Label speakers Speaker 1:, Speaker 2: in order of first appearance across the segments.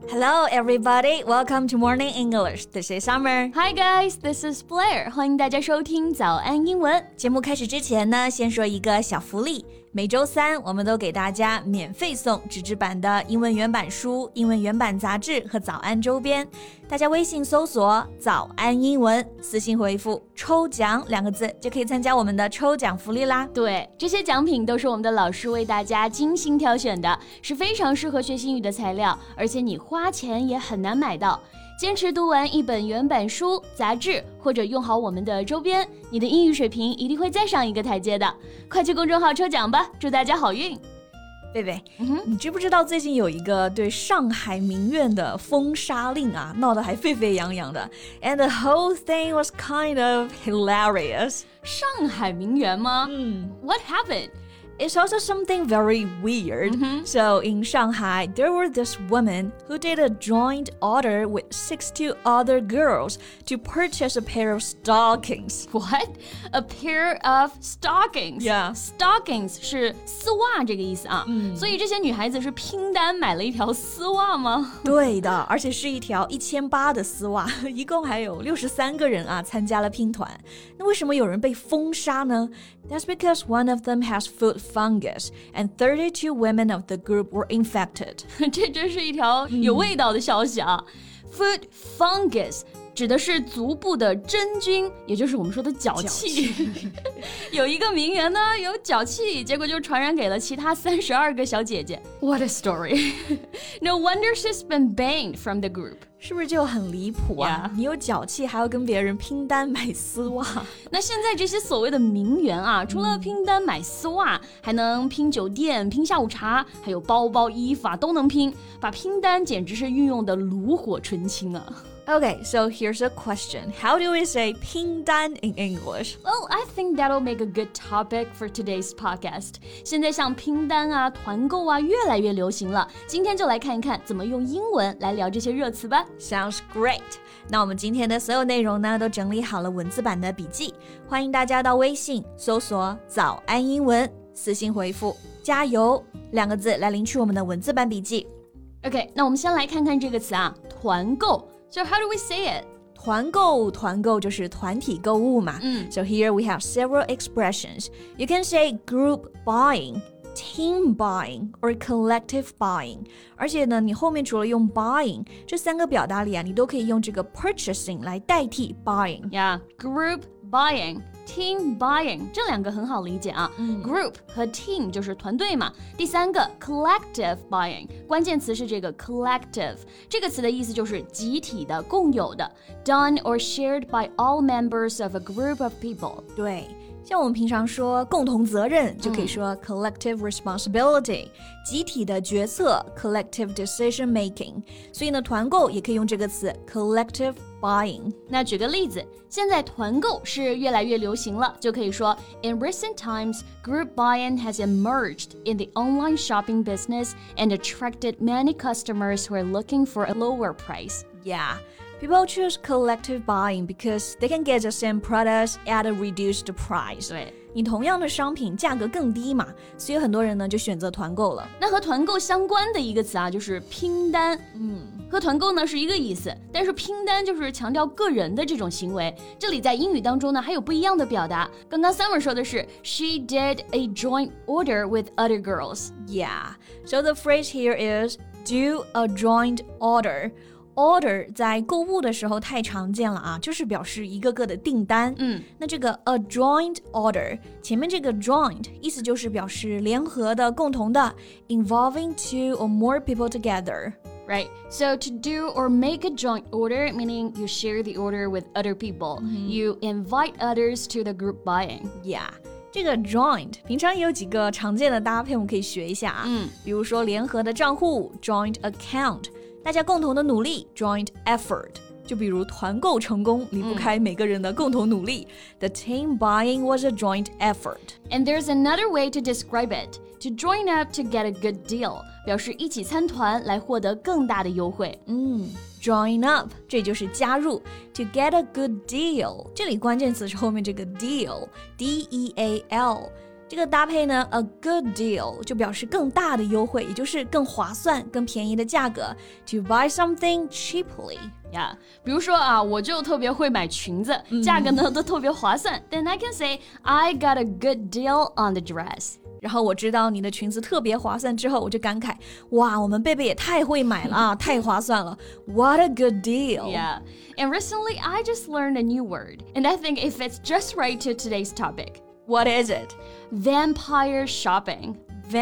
Speaker 1: Hello, everybody. Welcome to Morning English. This is Summer.
Speaker 2: Hi, guys. This is Blair. 欢迎大家收听早安英文。
Speaker 1: 节目开始之前呢，先说一个小福利。每周三，我们都给大家免费送纸质版的英文原版书、英文原版杂志和早安周边。大家微信搜索“早安英文”，私信回复“抽奖”两个字，就可以参加我们的抽奖福利啦。
Speaker 2: 对，这些奖品都是我们的老师为大家精心挑选的，是非常适合学英语的材料，而且你花钱也很难买到。坚持读完一本原版书、杂志，或者用好我们的周边，你的英语水平一定会再上一个台阶的。快去公众号抽奖吧，祝大家好运！
Speaker 1: 贝贝，你知不知道最近有一个对上海名苑的封杀令啊，闹得还沸沸扬扬的 ，and the whole thing was kind of hilarious.
Speaker 2: 上海名园吗？What happened?It's
Speaker 1: also something very weird. So in Shanghai, there were this woman who did a joint order with 62 other girls to purchase a pair of stockings.
Speaker 2: What? A pair of stockings?
Speaker 1: Yeah.
Speaker 2: Stockings 是丝袜这个意思啊。所以这些女孩子是拼单买了一条丝袜吗？
Speaker 1: 对的，而且是一条1800的丝袜，一共还有63个人啊参加了拼团。那为什么有人被封杀呢？ That's because one of them has food fungus and 32 women of the group were infected.
Speaker 2: 这真是一条有味道的消息啊。Food fungus 指的是足部的真菌，也就是我们说的脚气。有一个名媛呢有脚气，结果就传染给了其他32个小姐姐。What a story. No wonder she's been banned from the group.
Speaker 1: 是不是就很离谱啊？ 你有脚气还要跟别人拼单买丝袜。
Speaker 2: 那现在这些所谓的名媛啊，除了拼单买丝袜，还能拼酒店、拼下午茶，还有包包、衣服啊都能拼，把拼单简直是运用的炉火纯青啊。
Speaker 1: Okay, so here's a question. How do we say 拼单 in English?
Speaker 2: Well, I think that'll make a good topic for today's podcast. 现在像拼单啊、团购啊越来越流行了，今天就来看一看怎么用英文来聊这些热词吧。
Speaker 1: Sounds great. 那我们今天的所有内容呢，都整理好了文字版的笔记，欢迎大家到微信搜索“早安英文”，私信回复“加油”两个字来领取我们的文字版笔记。
Speaker 2: OK, 那我们先来看看这个词啊，团购。So how do we say it?
Speaker 1: 团购就是团体购物嘛。So here we have several expressions. You can say group buying, team buying, or collective buying. 而且呢，你后面除了用 buying 这三个表达里啊，你都可以用这个 purchasing 来代替 buying.
Speaker 2: Yeah, group buying.Team buying 这两个很好理解啊。Group 和 team 就是团队嘛。第三个 collective buying 关键词是这个 collective 这个词的意思就是集体的、共有的 done or shared by all members of a group of people。
Speaker 1: 对，像我们平常说共同责任就可以说 collective responsibility， 集体的决策 collective decision making， 所以呢团购也可以用这个词 collective buying。
Speaker 2: 那举个例子，现在团购是越来越流行了，就可以说 In recent times, group buying has emerged in the online shopping business and attracted many customers who are looking for a lower price.
Speaker 1: Yeah.People choose collective buying because they can get the same products at a reduced price.
Speaker 2: 对，
Speaker 1: 你同样的商品价格更低嘛，所以很多人呢就选择团购了。
Speaker 2: 那和团购相关的一个词啊，就是拼单。和团购呢是一个意思，但是拼单就是强调个人的这种行为。这里在英语当中呢还有不一样的表达。刚刚 Summer 说的是 She did a joint order with other girls.
Speaker 1: Yeah, so the phrase here is do a joint order.Order 在购物的时候太常见了啊，就是表示一个个的订单。那这个 a joint order 前面这个 joint 意思就是表示联合的、共同的 involving two or more people together。Right,
Speaker 2: so to do or make a joint order, meaning you share the order with other people. You invite others to the group buying.
Speaker 1: Yeah.这个 joint 平常也有几个常见的搭配我们可以学一下啊。比如说联合的账户 joint account， 大家共同的努力 joint effort， 就比如团购成功离不开每个人的共同努力。The team buying was a joint effort.
Speaker 2: And there's another way to describe it. To join up to get a good deal 表示一起参团来获得更大的优惠。
Speaker 1: Join up 这就是加入 To get a good deal 这里关键词是后面这个 deal D-E-A-L 这个搭配呢 a good deal 就表示更大的优惠，也就是更划算更便宜的价格 to buy something cheaply
Speaker 2: Yeah, 比如说啊，我就特别会买裙子，价格呢都特别划算。Then I can say I got a good deal on the dress.
Speaker 1: 然后我知道你的裙子特别划算之后，我就感慨，哇，我们贝贝也太会买了啊，太划算了 What a good deal.
Speaker 2: Yeah, and recently I just learned a new word, and I think it fits just right to today's topic.
Speaker 1: What is it?
Speaker 2: Vampire shopping.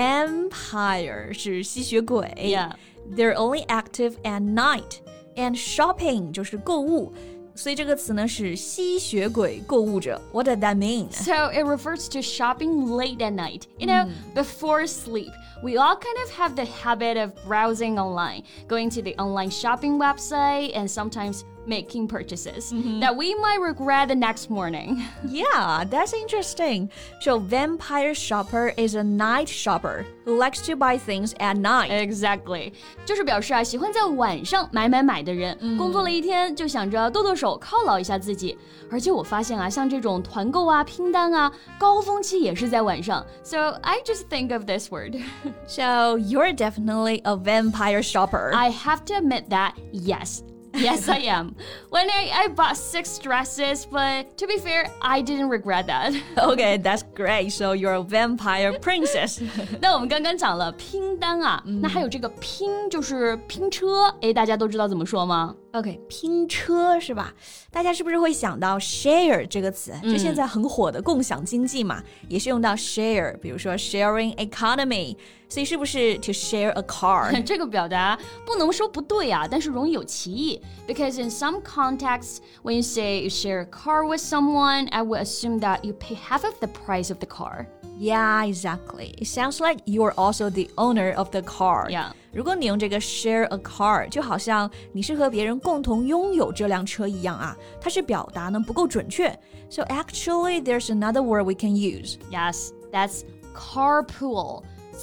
Speaker 1: Vampire 是吸血鬼
Speaker 2: Yeah.
Speaker 1: They're only active at night.And shopping 就是购物，所以这个词呢是吸血鬼购物者。What does that mean?
Speaker 2: So it refers to shopping late at night, you know, before sleep. We all kind of have the habit of browsing online, going to the online shopping website, and sometimes making purchases that we might regret the next morning.
Speaker 1: Yeah, that's interesting. So vampire shopper is a night shopper who likes to buy things at night.
Speaker 2: Exactly. 就是表示啊，喜欢在晚上买的人，工作了一天就想着剁剁手犒劳一下自己。而且我发现啊，像这种团购啊、拼单啊，高峰期也是在晚上。So I just think of this word.
Speaker 1: So you're definitely a vampire shopper.
Speaker 2: I have to admit that, yes. Yes, I am. When I bought 6 dresses, but to be fair, I didn't regret that.
Speaker 1: Okay, that's great. So you're a vampire princess.
Speaker 2: 那我们刚刚讲了拼单啊，那还有这个拼就是拼车，诶，大家都知道怎么说吗？
Speaker 1: OK, 拼车是吧？大家是不是会想到 share 这个词？就现在很火的共享经济嘛，也是用到 share， 比如说 sharing economy。所以是不是 to share a car？
Speaker 2: 这个表达不能说不对啊，但是容易有歧义。Because in some contexts, when you say you share a car with someone, I would assume that you pay half of the price of the car.
Speaker 1: Yeah, exactly. It sounds like you're also the owner of the car.
Speaker 2: Yeah.
Speaker 1: 如果你用这个 share a car， 就好像你是和别人共同拥有这辆车一样啊，它是表达呢不够准确。So actually, there's another word we can use.
Speaker 2: Yes, that's carpool.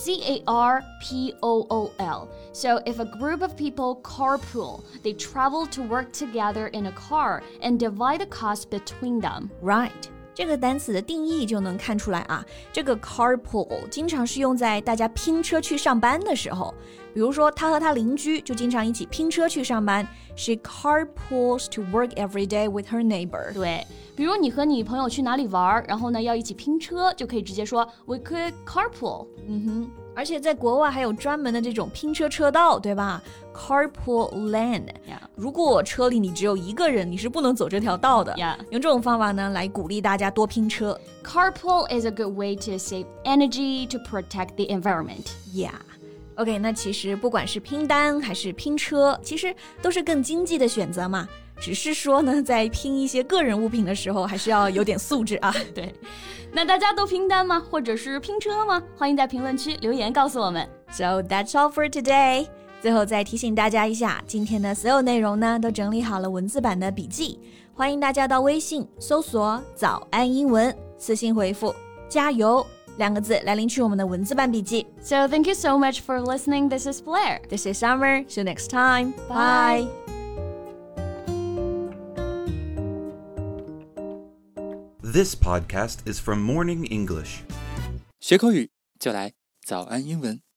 Speaker 2: C-A-R-P-O-O-L. So if a group of people carpool, they travel to work together in a car and divide the cost between them.
Speaker 1: Right. 这个单词的定义就能看出来啊，这个 carpool 经常是用在大家拼车去上班的时候。比如说，他和他邻居就经常一起拼车去上班。She carpools to work every day with her neighbor.
Speaker 2: 对，比如你和你朋友去哪里玩，然后呢要一起拼车，就可以直接说 We could carpool.
Speaker 1: 而且在国外还有专门的这种拼车车道，对吧？ Carpool lane.
Speaker 2: Yeah.
Speaker 1: 如果车里你只有一个人，你是不能走这条道的。
Speaker 2: Yeah.
Speaker 1: 用这种方法呢，来鼓励大家多拼车。
Speaker 2: Carpool is a good way to save energy to protect the environment.
Speaker 1: Yeah.OK, 那其实不管是拼单还是拼车，其实都是更经济的选择嘛。只是说呢，在拼一些个人物品的时候，还是要有点素质啊。
Speaker 2: 对，那大家都拼单吗？或者是拼车吗？欢迎在评论区留言告诉我们。
Speaker 1: So that's all for today. 最后再提醒大家一下，今天的所有内容呢，都整理好了文字版的笔记，欢迎大家到微信搜索“早安英文”，私信回复“加油”2个字来领取我们的文字版笔记。
Speaker 2: So thank you so much for listening. This is Blair.
Speaker 1: This is Summer. See you next time.
Speaker 2: Bye.
Speaker 3: This podcast is from Morning English.
Speaker 4: 学口语就来早安英文。